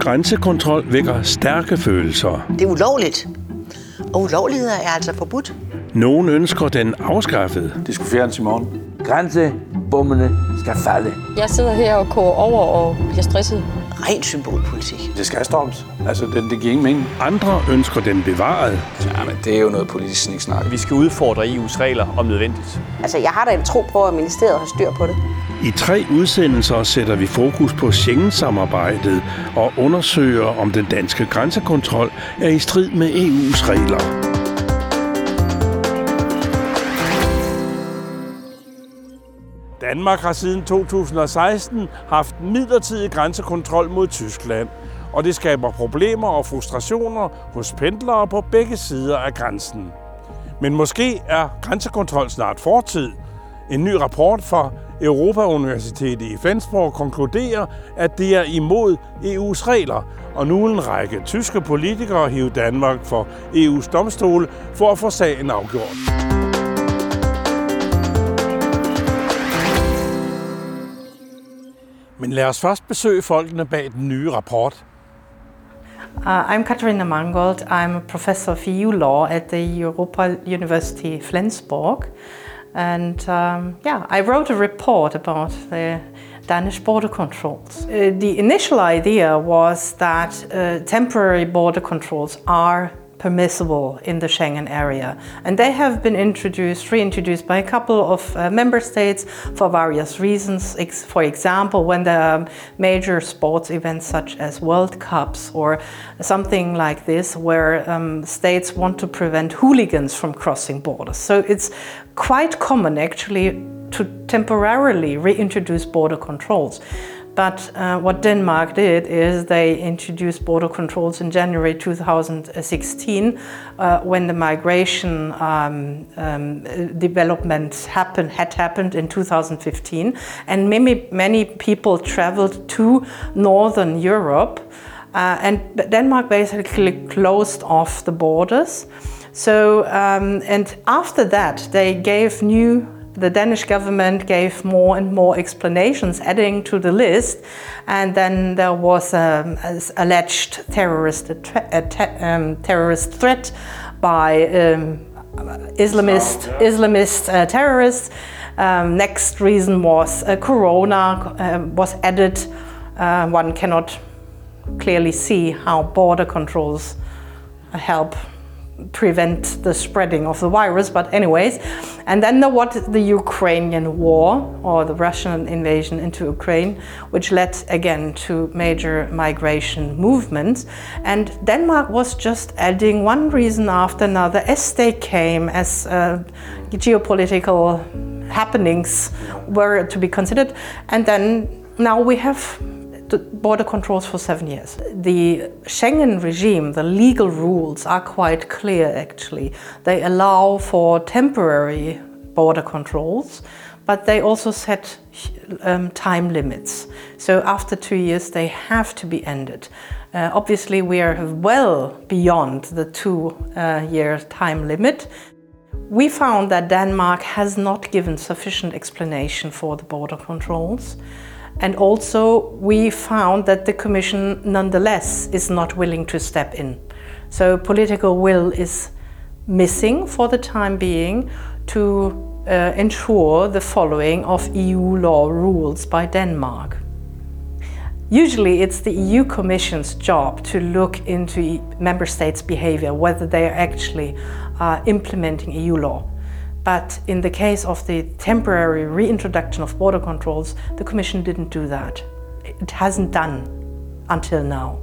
grænsekontrol vækker stærke følelser. Det er ulovligt, og ulovligheder er altså forbudt. Nogen ønsker den afskaffet. Det skulle fjernes i morgen. Grænsebommene skal falde. Jeg sidder her og koger over og bliver stresset. Ren symbolpolitik. Det skal stoppes. Altså, det giver ingen mening. Andre ønsker den bevaret. Ja, men det er jo noget politisk sniksnak. Vi skal udfordre EU's regler om nødvendigt. Altså, jeg har da en tro på, at ministeriet har styr på det. I 3 udsendelser sætter vi fokus på Schengen-samarbejdet og undersøger, om den danske grænsekontrol er i strid med EU's regler. Danmark har siden 2016 haft midlertidig grænsekontrol mod Tyskland, og det skaber problemer og frustrationer hos pendlere på begge sider af grænsen. Men måske er grænsekontrol snart fortid. En ny rapport fra Europa-Universitetet i Flensborg konkluderer, at det er imod EU's regler, og nu en række tyske politikere hive Danmark for EU's domstol for at få sagen afgjort. Men lad os først besøge folkene bag den nye rapport. I'm Katharina Mangold. I'm a professor of EU law at the Europa University Flensborg. And I wrote a report about the Danish border controls. The initial idea was that temporary border controls are permissible in the Schengen area, and they have been reintroduced by a couple of member states for various reasons. For example, when there are major sports events such as World Cups or something like this, where states want to prevent hooligans from crossing borders. So it's quite common actually to temporarily reintroduce border controls. But what Denmark did is they introduced border controls in January 2016 when the migration development had happened in 2015, and many people traveled to Northern Europe, and Denmark basically closed off the borders. So and after that the Danish government gave more and more explanations adding to the list, and then there was an alleged terrorist threat by Islamist terrorists. Next reason was Corona was added. One cannot clearly see how border controls help prevent the spreading of the virus, but anyways. And then there was the Ukrainian war, or the Russian invasion into Ukraine, which led again to major migration movements. And Denmark was just adding one reason after another as they came, as geopolitical happenings were to be considered. And then now we have the border controls for 7 years. The Schengen regime, the legal rules are quite clear actually. They allow for temporary border controls, but they also set time limits. So after 2 years they have to be ended. Obviously we are well beyond the 2-year time limit. We found that Denmark has not given sufficient explanation for the border controls. And also we found that the Commission nonetheless is not willing to step in. So political will is missing for the time being to ensure the following of EU law rules by Denmark. Usually it's the EU Commission's job to look into member states' behavior, whether they are actually implementing EU law. But in the case of the temporary reintroduction of border controls, the Commission didn't do that. It hasn't done until now.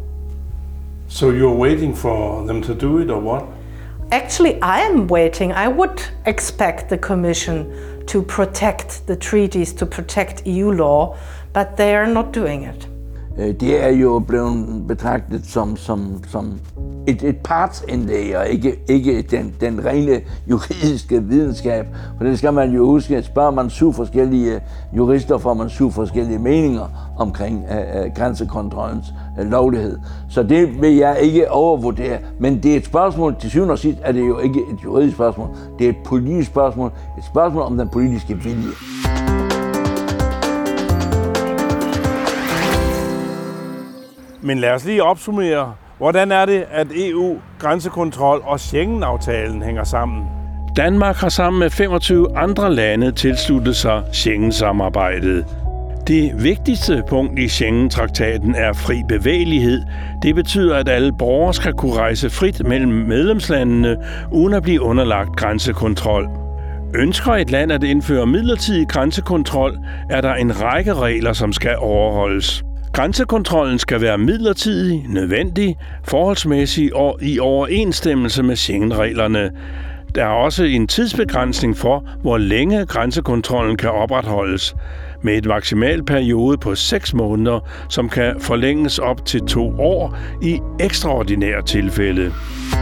So you're waiting for them to do it, or what? Actually, I am waiting. I would expect the Commission to protect the treaties, to protect EU law, but they are not doing it. Det er jo blevet betragtet som et partsindlæg, og ikke den rene juridiske videnskab. For det skal man jo huske, at spørger man 7 forskellige jurister, får man 7 forskellige meninger omkring grænsekontrollens lovlighed. Så det vil jeg ikke overvurdere. Men det er et spørgsmål, til syvende og sidst er det jo ikke et juridisk spørgsmål. Det er et politisk spørgsmål. Et spørgsmål om den politiske vilje. Men lad os lige opsummere. Hvordan er det, at EU, grænsekontrol og Schengen-aftalen hænger sammen? Danmark har sammen med 25 andre lande tilsluttet sig Schengen-samarbejdet. Det vigtigste punkt i Schengen-traktaten er fri bevægelighed. Det betyder, at alle borgere skal kunne rejse frit mellem medlemslandene, uden at blive underlagt grænsekontrol. Ønsker et land at indføre midlertidig grænsekontrol, er der en række regler, som skal overholdes. Grænsekontrollen skal være midlertidig, nødvendig, forholdsmæssig og i overensstemmelse med Schengen-reglerne. Der er også en tidsbegrænsning for, hvor længe grænsekontrollen kan opretholdes, med et maksimal periode på 6 måneder, som kan forlænges op til 2 år i ekstraordinære tilfælde.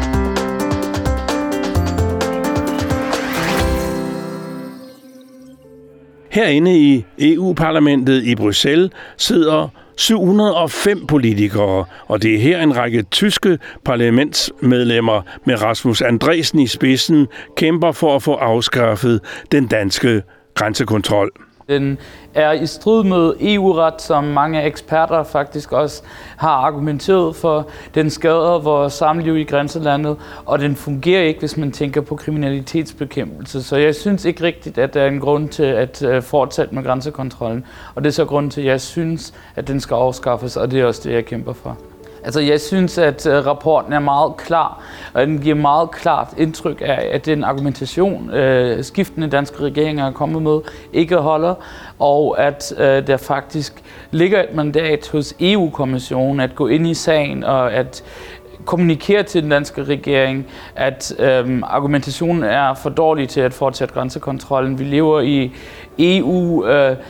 Herinde i EU-parlamentet i Bruxelles sidder 705 politikere, og det er her en række tyske parlamentsmedlemmer med Rasmus Andresen i spidsen kæmper for at få afskaffet den danske grænsekontrol. Den er i strid med EU-ret, som mange eksperter faktisk også har argumenteret for. Den skader vores samliv i grænselandet, og den fungerer ikke, hvis man tænker på kriminalitetsbekæmpelse. Så jeg synes ikke rigtigt, at der er en grund til at fortsætte med grænsekontrollen. Og det er så grund til, at jeg synes, at den skal afskaffes, og det er også det, jeg kæmper for. Altså, jeg synes, at rapporten er meget klar, og den giver meget klart indtryk af, at den argumentation, skiftende danske regeringer er kommet med, ikke holder, og at der faktisk ligger et mandat hos EU-kommissionen at gå ind i sagen og at kommunikere til den danske regering, at argumentationen er for dårlig til at fortsætte grænsekontrollen. Vi lever i EU,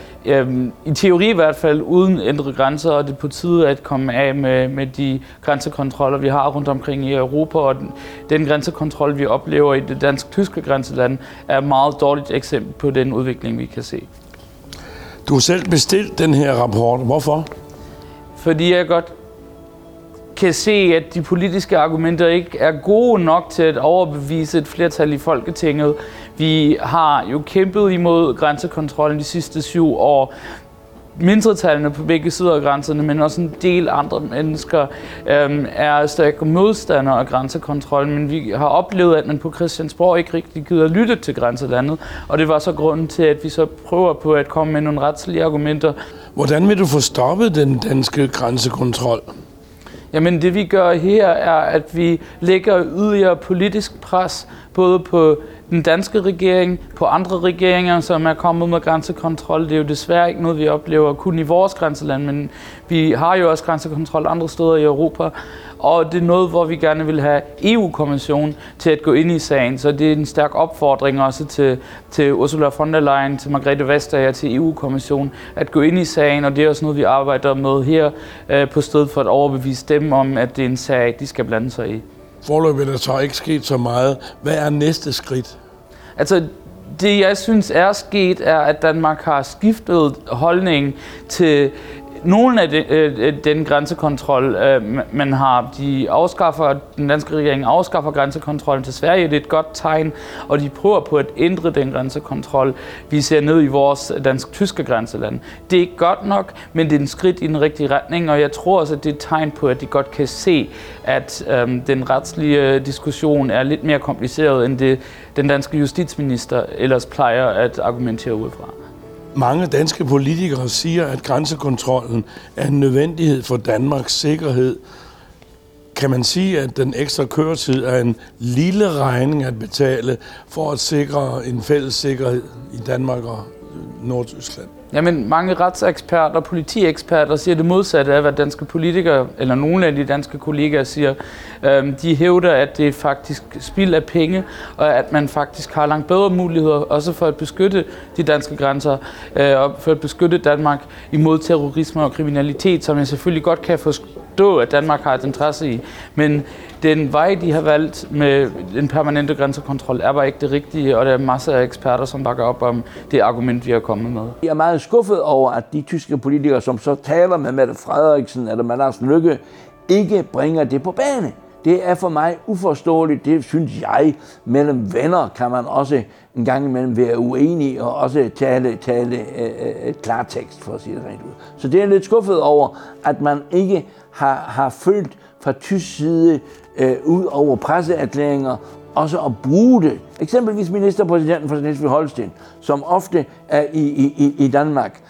i teori i hvert fald, uden indre grænser, og det er på tide at komme af med de grænsekontroller, vi har rundt omkring i Europa, og den grænsekontrol, vi oplever i det dansk-tyske grænseland, er et meget dårligt eksempel på den udvikling, vi kan se. Du har selv bestilt den her rapport. Hvorfor? Fordi jeg godt kan se, at de politiske argumenter ikke er gode nok til at overbevise et flertal i Folketinget. Vi har jo kæmpet imod grænsekontrollen de sidste 7 år. Mindretallene på begge sider af grænserne, men også en del andre mennesker er stærke modstandere af grænsekontrollen, men vi har oplevet, at man på Christiansborg ikke rigtig gider lytte til grænselandet, og det var så grunden til, at vi så prøver på at komme med nogle retslige argumenter. Hvordan vil du få stoppet den danske grænsekontrol? Jamen det vi gør her er, at vi lægger yderligere politisk pres både på den danske regering, på andre regeringer, som er kommet med grænsekontrol. Det er jo desværre ikke noget, vi oplever kun i vores grænseland, men vi har jo også grænsekontrol andre steder i Europa. Og det er noget, hvor vi gerne vil have EU-kommissionen til at gå ind i sagen. Så det er en stærk opfordring også til Ursula von der Leyen, til Margrethe Vestager, til EU-kommissionen at gå ind i sagen. Og det er også noget, vi arbejder med her på stedet for at overbevise dem om, at det er en sag, de skal blande sig i. Foreløbig er der så ikke sket så meget. Hvad er næste skridt? Altså, det jeg synes er sket, er, at Danmark har skiftet holdning til nogle af den grænsekontrol, man har. Den danske regering afskaffer grænsekontrollen til Sverige. Det er et godt tegn, og de prøver på at ændre den grænsekontrol, vi ser ned i vores dansk-tyske grænseland. Det er ikke godt nok, men det er en skridt i den rigtige retning, og jeg tror også, at det er et tegn på, at de godt kan se, at den retslige diskussion er lidt mere kompliceret, end det den danske justitsminister ellers plejer at argumentere ud fra. Mange danske politikere siger, at grænsekontrollen er en nødvendighed for Danmarks sikkerhed. Kan man sige, at den ekstra køretid er en lille regning at betale for at sikre en fælles sikkerhed i Danmark og Nordtyskland? Jamen, mange retseksperter og politieksperter siger det modsatte af, hvad danske politikere, eller nogle af de danske kollegaer siger. De hævder, at det er faktisk spild af penge, og at man faktisk har langt bedre muligheder, også for at beskytte de danske grænser, og for at beskytte Danmark imod terrorisme og kriminalitet, som jeg selvfølgelig godt kan forstå, at Danmark har et interesse i. Men den vej, de har valgt med en permanente grænsekontrol, er bare ikke det rigtige, og der er masser af eksperter, som bakker op om det argument, vi har kommet med. Jeg er meget skuffet over, at de tyske politikere, som så taler med Mette Frederiksen eller med Lars Løkke, ikke bringer det på bane. Det er for mig uforståeligt, det synes jeg. Mellem venner kan man også en gang imellem være uenige og også tale klartekst, for at sige det rent ud. Så det er lidt skuffet over, at man ikke har følt fra tysk side ud over presseerklæringer også at bruge det. Eksempelvis ministerpræsidenten for Slesvig-Holsten, som ofte er i Danmark.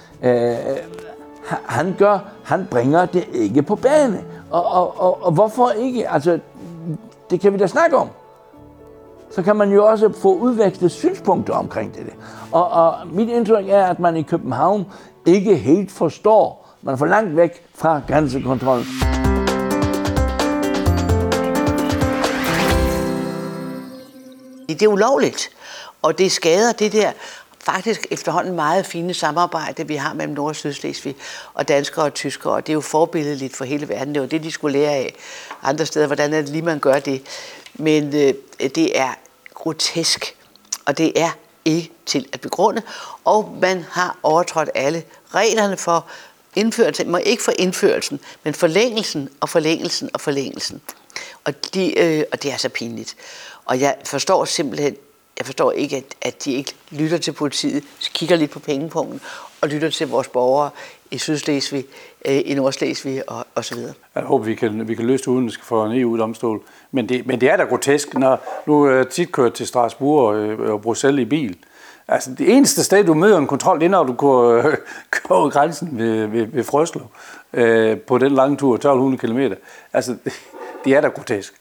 Han bringer det ikke på bane. Og hvorfor ikke? Altså, det kan vi da snakke om. Så kan man jo også få udvekslet synspunkter omkring det. Og mit indtryk er, at man i København ikke helt forstår. Man er for langt væk fra grænsekontrollen. Det er ulovligt, og det skader det der faktisk efterhånden meget fine samarbejde, vi har mellem Nord- og Sydslesvig og danskere og tyskere, og det er jo forbilledeligt for hele verden. Det var det, de skulle lære af andre steder, hvordan er det lige, man gør det. Men det er grotesk, og det er ikke til at begrunde, og man har overtrådt alle reglerne for indførelsen, ikke for indførelsen, men forlængelsen og forlængelsen og forlængelsen. Og det er så pinligt. Og jeg forstår ikke, at de ikke lytter til politiet, kigger lidt på pengepunkten og lytter til vores borgere i Sydslesvig, i Nordslesvig og så videre. Jeg håber, vi kan løse det uden, at vi skal få en EU-domstol. Men det er da grotesk, når nu tit kører til Strasbourg og Bruxelles i bil. Altså, det eneste sted, du møder en kontrol, det er, når du går grænsen ved Frøslev på den lange tur, 1200 km. Altså, det er da grotesk.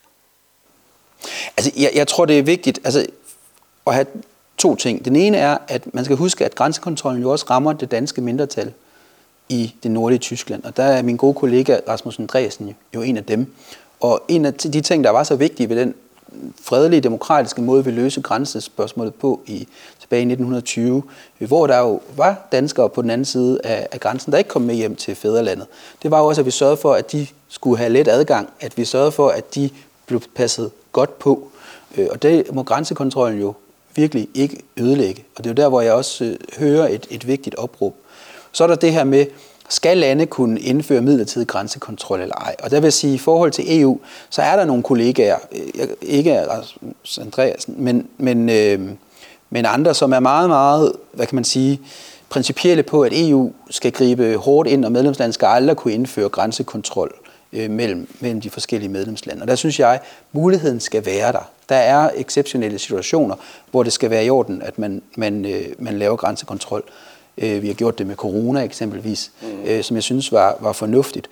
Altså, jeg tror, det er vigtigt at have to ting. Den ene er, at man skal huske, at grænsekontrollen jo også rammer det danske mindretal i det nordlige Tyskland. Og der er min gode kollega Rasmus Andreasen jo en af dem. Og en af de ting, der var så vigtige ved den fredelige, demokratiske måde, vi løste grænsespørgsmålet på tilbage i 1920, hvor der jo var danskere på den anden side af grænsen, der ikke kom med hjem til fædrelandet. Det var jo også, at vi sørgede for, at de skulle have let adgang, at vi sørgede for, at de blev passet godt på. Og det må grænsekontrollen jo virkelig ikke ødelægge. Og det er jo der, hvor jeg også hører et vigtigt opråb. Så er der det her med, skal lande kunne indføre midlertidig grænsekontrol eller ej? Og der vil jeg sige, i forhold til EU, så er der nogle kollegaer, ikke Rasmus Andreasen, men andre, som er meget, meget, hvad kan man sige, principielle på, at EU skal gribe hårdt ind, og medlemslandet skal aldrig kunne indføre grænsekontrol mellem de forskellige medlemslande. Og der synes jeg, muligheden skal være der. Der er exceptionelle situationer, hvor det skal være i orden, at man laver grænsekontrol. Vi har gjort det med corona eksempelvis, som jeg synes var fornuftigt.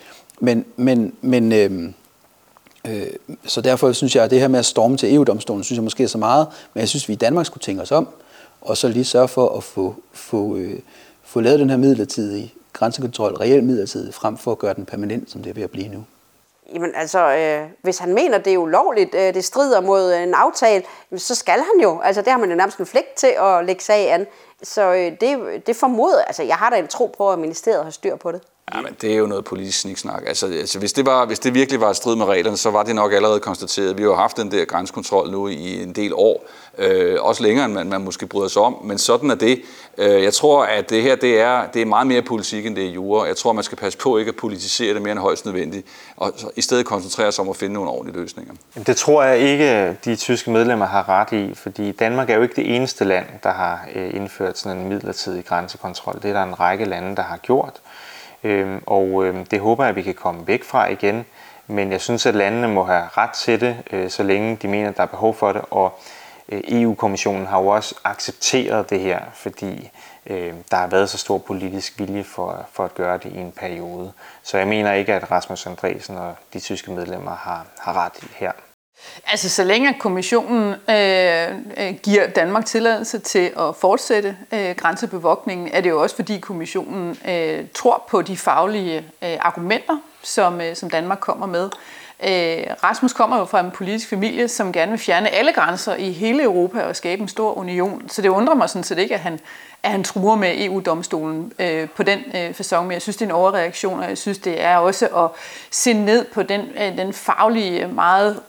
Så derfor synes jeg, at det her med at storme til EU-domstolen, synes jeg måske er så meget, men jeg synes, vi i Danmark skulle tænke os om, og så lige sørge for at få lavet den her midlertidige grænsekontrol, reelt midlertidig, frem for at gøre den permanent, som det er ved at blive nu. Jamen altså, hvis han mener, det er ulovligt, det strider mod en aftale, så skal han jo. Altså, det har man jo nærmest en pligt til at lægge sag an. Så det formoder, altså jeg har da en tro på, at ministeriet har styr på det. Ja, men det er jo noget politisk sniksnak. Altså hvis det virkelig var et strid med reglerne, så var det nok allerede konstateret. Vi har jo haft den der grænsekontrol nu i en del år. Også længere, end man måske bryder sig om. Men sådan er det. Jeg tror, at det her det er meget mere politik, end det er jura. Jeg tror, man skal passe på ikke at politisere det mere end højst nødvendigt. Og i stedet koncentrere sig om at finde nogle ordentlige løsninger. Det tror jeg ikke, de tyske medlemmer har ret i. Fordi Danmark er jo ikke det eneste land, der har indført sådan en midlertidig grænsekontrol. Det er der en række lande, der har gjort. Det håber jeg, at vi kan komme væk fra igen. Men jeg synes, at landene må have ret til det, så længe de mener, at der er behov for det. Og EU-kommissionen har jo også accepteret det her, fordi der har været så stor politisk vilje for at gøre det i en periode. Så jeg mener ikke, at Rasmus Andreasen og de tyske medlemmer har ret her. Altså, så længe kommissionen giver Danmark tilladelse til at fortsætte grænsebevogtningen, er det jo også, fordi kommissionen tror på de faglige argumenter, som Danmark kommer med. Rasmus kommer jo fra en politisk familie, som gerne vil fjerne alle grænser i hele Europa og skabe en stor union. Så det undrer mig sådan set ikke, at han truer med EU-domstolen på den facon, men jeg synes, det er en overreaktion, og jeg synes, det er også at se ned på den faglige, meget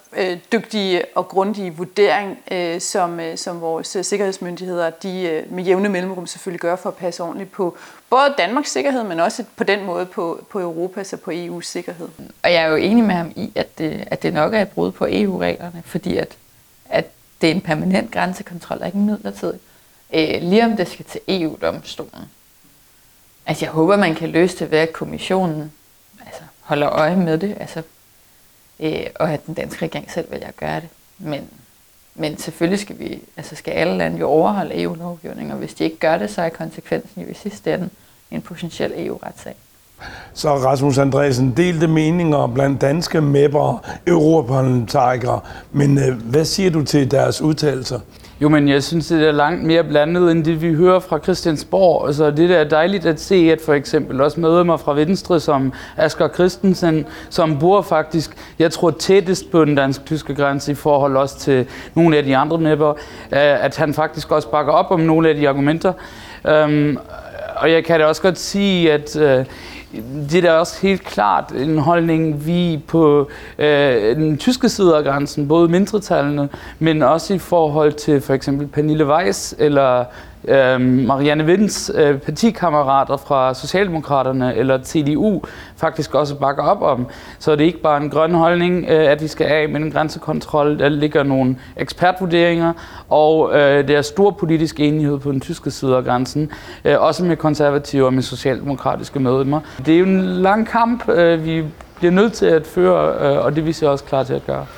dygtige og grundige vurdering, som vores sikkerhedsmyndigheder de med jævne mellemrum selvfølgelig gør for at passe ordentligt på både Danmarks sikkerhed, men også på den måde på Europas og på EU's sikkerhed. Og jeg er jo enig med ham i, at det nok er et brud på EU-reglerne, fordi at det er en permanent grænsekontrol, og ikke en midlertidig. Lige om det skal til EU-domstolen. Altså jeg håber, man kan løse det ved, at kommissionen holder øje med det, og at den danske regering selv vælger at gøre det. Men selvfølgelig skal alle lande jo overholde EU-lovgivning, og hvis de ikke gør det, så er konsekvensen jo i sidste ende en potentiel EU-retssag. Så Rasmus Andresen, delte meninger blandt danske MEP'er og europaparlamentarikere, men hvad siger du til deres udtalelser? Jo, men jeg synes, det er langt mere blandet, end det vi hører fra Christiansborg. Altså, det er dejligt at se, at for eksempel også medlemmer fra Venstre, som Asger Christensen, som bor faktisk, jeg tror, tættest på den dansk-tyske grænse i forhold også til nogle af de andre MEP'er, at han faktisk også bakker op om nogle af de argumenter. Og jeg kan da også godt sige, at det er da også helt klart en holdning, vi på den tyske side af grænsen, både mindretallene, men også i forhold til for eksempel Pernille Weiss eller Marianne Vinds partikammerater fra Socialdemokraterne eller TDU faktisk også bakker op om. Så det er ikke bare en grøn holdning, at vi skal af med en grænsekontrol. Der ligger nogle ekspertvurderinger, og der er stor politisk enighed på den tyske side af grænsen, også med konservative og med socialdemokratiske medlemmer. Det er jo en lang kamp, vi bliver nødt til at føre, og det er vi så også klar til at gøre.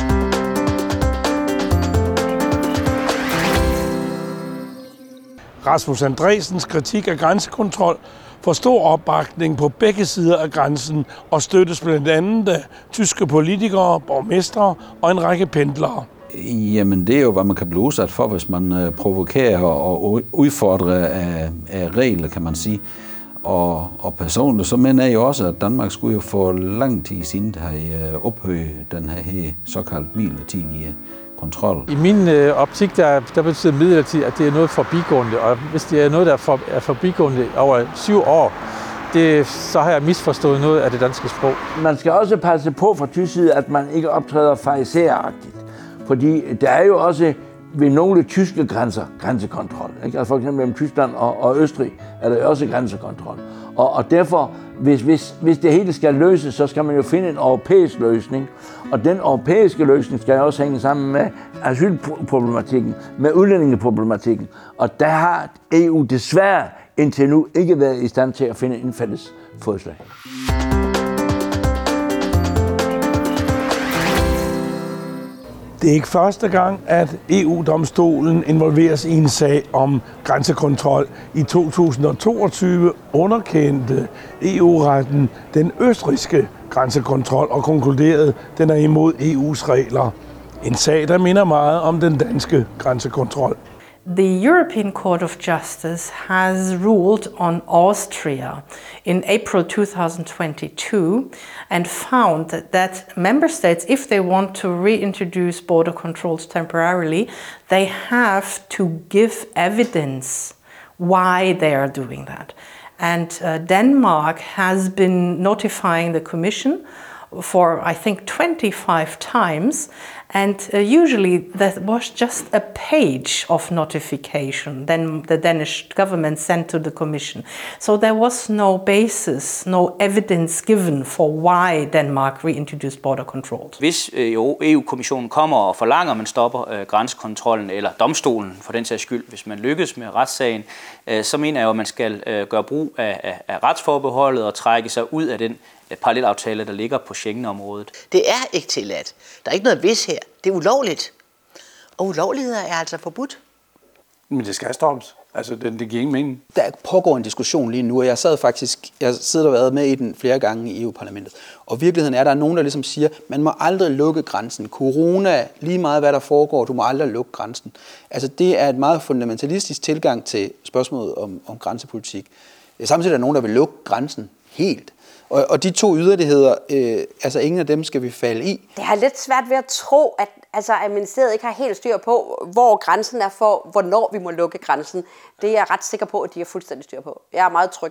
Rasmus Andresens kritik af grænsekontrol får stor opbakning på begge sider af grænsen og støttes blandt andet af tyske politikere, borgmestre og en række pendlere. Jamen, det er jo, hvad man kan blive udsat for, hvis man provokerer og udfordrer af regler, kan man sige. Og personligt, så mener jeg jo også, at Danmark skulle jo for lang tid siden have ophøjet den her såkaldt midlertidige kontrol. I min optik, der betyder midlertidigt, at det er noget forbigående, og hvis det er noget, der er forbigående over 7 år, så har jeg misforstået noget af det danske sprog. Man skal også passe på fra tysk side, at man ikke optræder farisæeragtigt, fordi der er jo også ved nogle tyske grænser grænsekontrol. Ikke? Altså for eksempel mellem Tyskland og Østrig er der også grænsekontrol. Og derfor, hvis det hele skal løses, så skal man jo finde en europæisk løsning. Og den europæiske løsning skal også hænge sammen med asylproblematikken, med udlændingeproblematikken. Og der har EU desværre indtil nu ikke været i stand til at finde en fælles fodslag. Det er ikke første gang, at EU-domstolen involveres i en sag om grænsekontrol. I 2022 underkendte EU-retten den østrigske grænsekontrol og konkluderede, at den er imod EU's regler. En sag, der minder meget om den danske grænsekontrol. The European Court of Justice has ruled on Austria in April 2022 and found that member states, if they want to reintroduce border controls temporarily, they have to give evidence why they are doing that. And Denmark has been notifying the Commission for, I think, 25 times, and usually that was just a page of notification then the Danish government sent to the Commission. So there was no basis, no evidence given for why Denmark reintroduced border controls. Hvis EU-kommissionen kommer og forlanger, at man stopper grænsekontrollen, eller domstolen for den sags skyld, hvis man lykkes med retssagen, så mener jeg jo, at man skal gøre brug af retsforbeholdet og trække sig ud af den parallelaftale, der ligger på Schengen-området. Det er ikke tilladt. Der er ikke noget hvis her. Det er ulovligt. Og ulovligheder er altså forbudt. Men det skal stoppes. Altså, det giver ingen mening. Der pågår en diskussion lige nu, og jeg sidder og været med i den flere gange i EU-parlamentet. Og virkeligheden er, at der er nogen, der ligesom siger, man må aldrig lukke grænsen. Corona, lige meget hvad der foregår, du må aldrig lukke grænsen. Altså, det er et meget fundamentalistisk tilgang til spørgsmålet om grænsepolitik. Samtidig er der nogen, der vil lukke grænsen helt. Og de to yderligheder, altså ingen af dem skal vi falde i. Det har lidt svært ved at tro, at ministeriet ikke har helt styr på, hvor grænsen er for, hvornår vi må lukke grænsen. Det er jeg ret sikker på, at de har fuldstændig styr på. Jeg er meget tryg for det.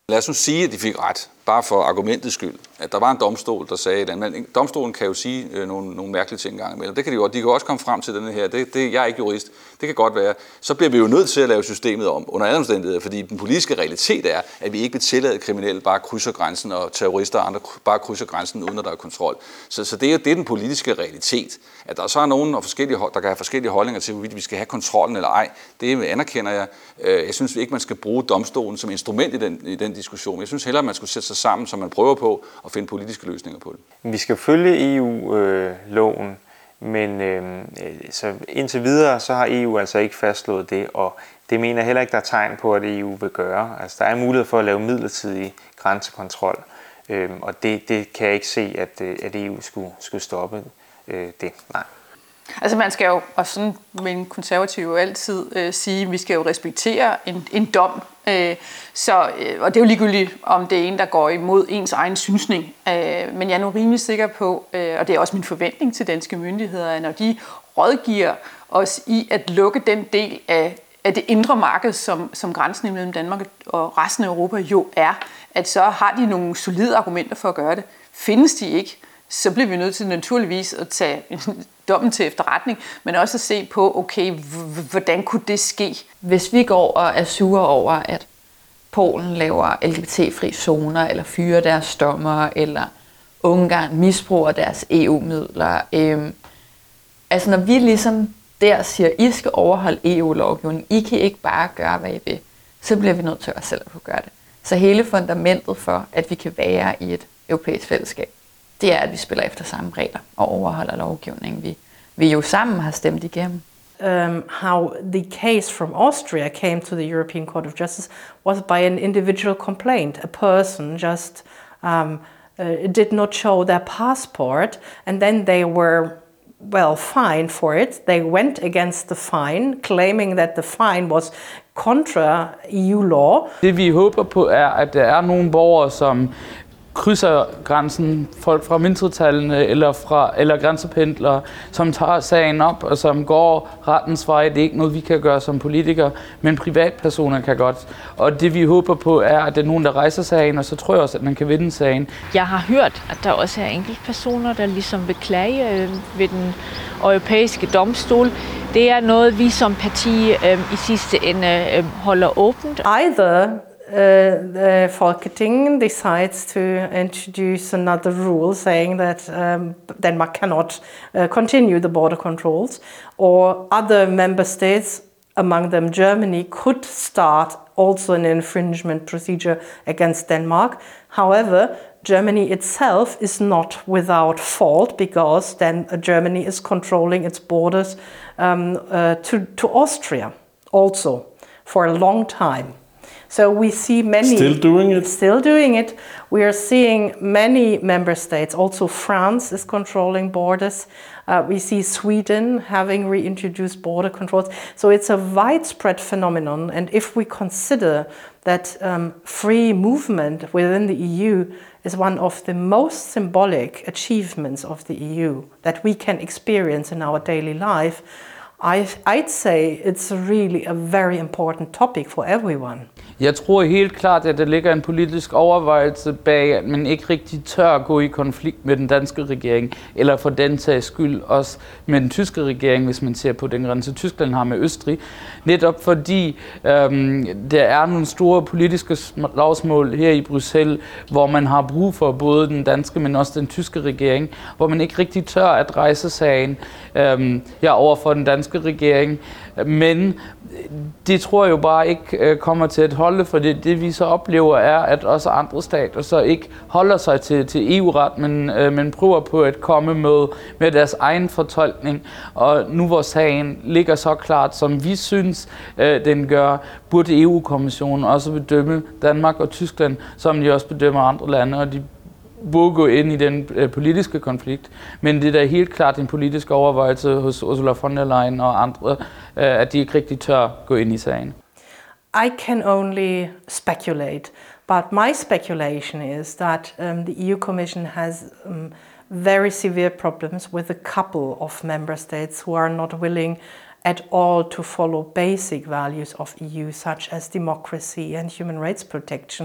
Lad os nu sige, at de fik ret, bare for argumentets skyld. At der var en domstol, der sagde, at domstolen kan jo sige nogle mærkelige ting engang imellem. Det kan de godt. De kan også komme frem til den her. Jeg er ikke jurist. Det kan godt være. Så bliver vi jo nødt til at lave systemet om under alle omstændigheder, fordi den politiske realitet er, at vi ikke vil tillade kriminelle bare krydser grænsen, og terrorister og andre bare krydser grænsen, uden at der er kontrol. Så det er jo den politiske realitet. At der så er nogen, der kan have forskellige holdninger til, hvorvidt vi skal have kontrollen eller ej, det anerkender jeg. Jeg synes ikke, man skal bruge domstolen som instrument i den diskussion. Jeg synes hellere, man skulle sætte sig sammen, så man prøver på at finde politiske løsninger på det. Vi skal følge EU-loven, men så indtil videre så har EU altså ikke fastslået det, og det mener jeg heller ikke, der er tegn på, at EU vil gøre. Altså, der er mulighed for at lave midlertidig grænsekontrol, og det kan jeg ikke se, at EU skulle stoppe det. Nej. Altså man skal jo, og sådan vil en konservativ altid sige, at vi skal jo respektere en dom. Og det er jo ligegyldigt, om det er en, der går imod ens egen synsning. Men jeg er nu rimelig sikker på, og det er også min forventning til danske myndigheder, at når de rådgiver os i at lukke den del af det indre marked, som grænsen mellem Danmark og resten af Europa jo er, at så har de nogle solide argumenter for at gøre det. Findes de ikke, så bliver vi nødt til naturligvis at tage dommen til efterretning, men også at se på, okay, hvordan kunne det ske? Hvis vi går og er sure over, at Polen laver LGBT-fri zoner, eller fyrer deres dommer, eller Ungarn misbruger deres EU-midler. Altså når vi ligesom der siger, I skal overholde EU-lovgivningen, I kan ikke bare gøre, hvad I vil, så bliver vi nødt til os selv at kunne gøre det. Så hele fundamentet for, at vi kan være i et europæisk fællesskab, det er, at vi spiller efter samme regler og overholder lovgivningen, vi jo sammen har stemt igennem. How the case from Austria came to the European Court of Justice was by an individual complaint. A person just did not show their passport, and then they were fined for it. They went against the fine, claiming that the fine was contra EU law. Det vi håber på er, at der er nogle borgere, som krydser grænsen, folk fra mindretallene eller grænsependlere, som tager sagen op og som går rettens vej. Det er ikke noget, vi kan gøre som politikere, men privatpersoner kan godt. Og det vi håber på er, at der er nogen, der rejser sagen, og så tror jeg også, at man kan vinde sagen. Jeg har hørt, at der også er enkeltpersoner, der ligesom vil klage ved den europæiske domstol. Det er noget, vi som parti i sidste ende holder åbent. Either the Folketing decides to introduce another rule saying that Denmark cannot continue the border controls, or other member states, among them Germany, could start also an infringement procedure against Denmark. However, Germany itself is not without fault because then Germany is controlling its borders to Austria also for a long time. So we see many still doing it. We are seeing many member states. Also France is controlling borders. We see Sweden having reintroduced border controls. So it's a widespread phenomenon. And if we consider that free movement within the EU is one of the most symbolic achievements of the EU that we can experience in our daily life, I'd say it's really a very important topic for everyone. Jeg tror helt klart, at der ligger en politisk overvejelse bag, at man ikke rigtig tør at gå i konflikt med den danske regering, eller for den sags skyld også med den tyske regering, hvis man ser på den grænse, Tyskland har med Østrig. Netop fordi der er nogle store politiske slagsmål her i Bruxelles, hvor man har brug for både den danske, men også den tyske regering, hvor man ikke rigtig tør at rejse sagen over for den danske regering. Men det tror jeg jo bare ikke kommer til at holde, for det vi så oplever er, at også andre stater så ikke holder sig til EU-ret, men prøver på at komme med deres egen fortolkning. Og nu hvor sagen ligger så klart, som vi synes, den gør, burde EU-kommissionen også bedømme Danmark og Tyskland, som de også bedømmer andre lande, og de burde gå ind i den politiske konflikt. Men det er da helt klart en politisk overvejelse hos Ursula von der Leyen og andre, at de ikke rigtig tør gå ind i sagen. I can only speculate, but my speculation is that the EU Commission has very severe problems with a couple of member states who are not willing at all to follow basic values of EU, such as democracy and human rights protection.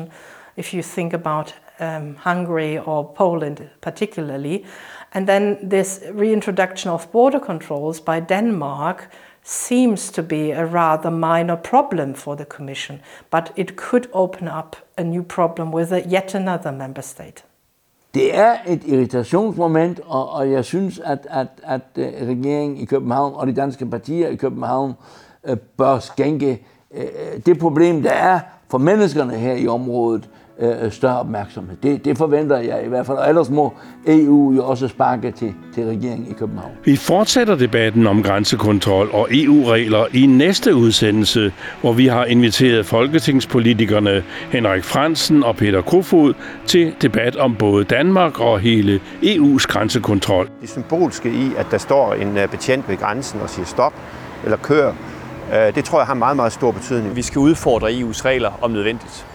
if you think about Hungary or Poland particularly. And then this reintroduction of border controls by Denmark seems to be a rather minor problem for the Commission, but it could open up a new problem with yet another member state. Det er et irritationsmoment, og jeg synes, at regeringen i København og de danske partier i København bør skænke det problem, der er for menneskerne her i området, større opmærksomhed. Det forventer jeg i hvert fald, og ellers må EU jo også sparke til regeringen i København. Vi fortsætter debatten om grænsekontrol og EU-regler i næste udsendelse, hvor vi har inviteret folketingspolitikerne Henrik Frandsen og Peter Kofod til debat om både Danmark og hele EU's grænsekontrol. Det symbolske i, at der står en betjent ved grænsen og siger stop eller kør, det tror jeg har meget, meget stor betydning. Vi skal udfordre EU's regler om nødvendigt.